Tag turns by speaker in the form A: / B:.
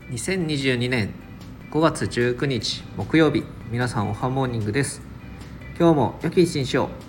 A: 2022年5月19日木曜日、皆さんおはモーニングです。今日も良き一日を。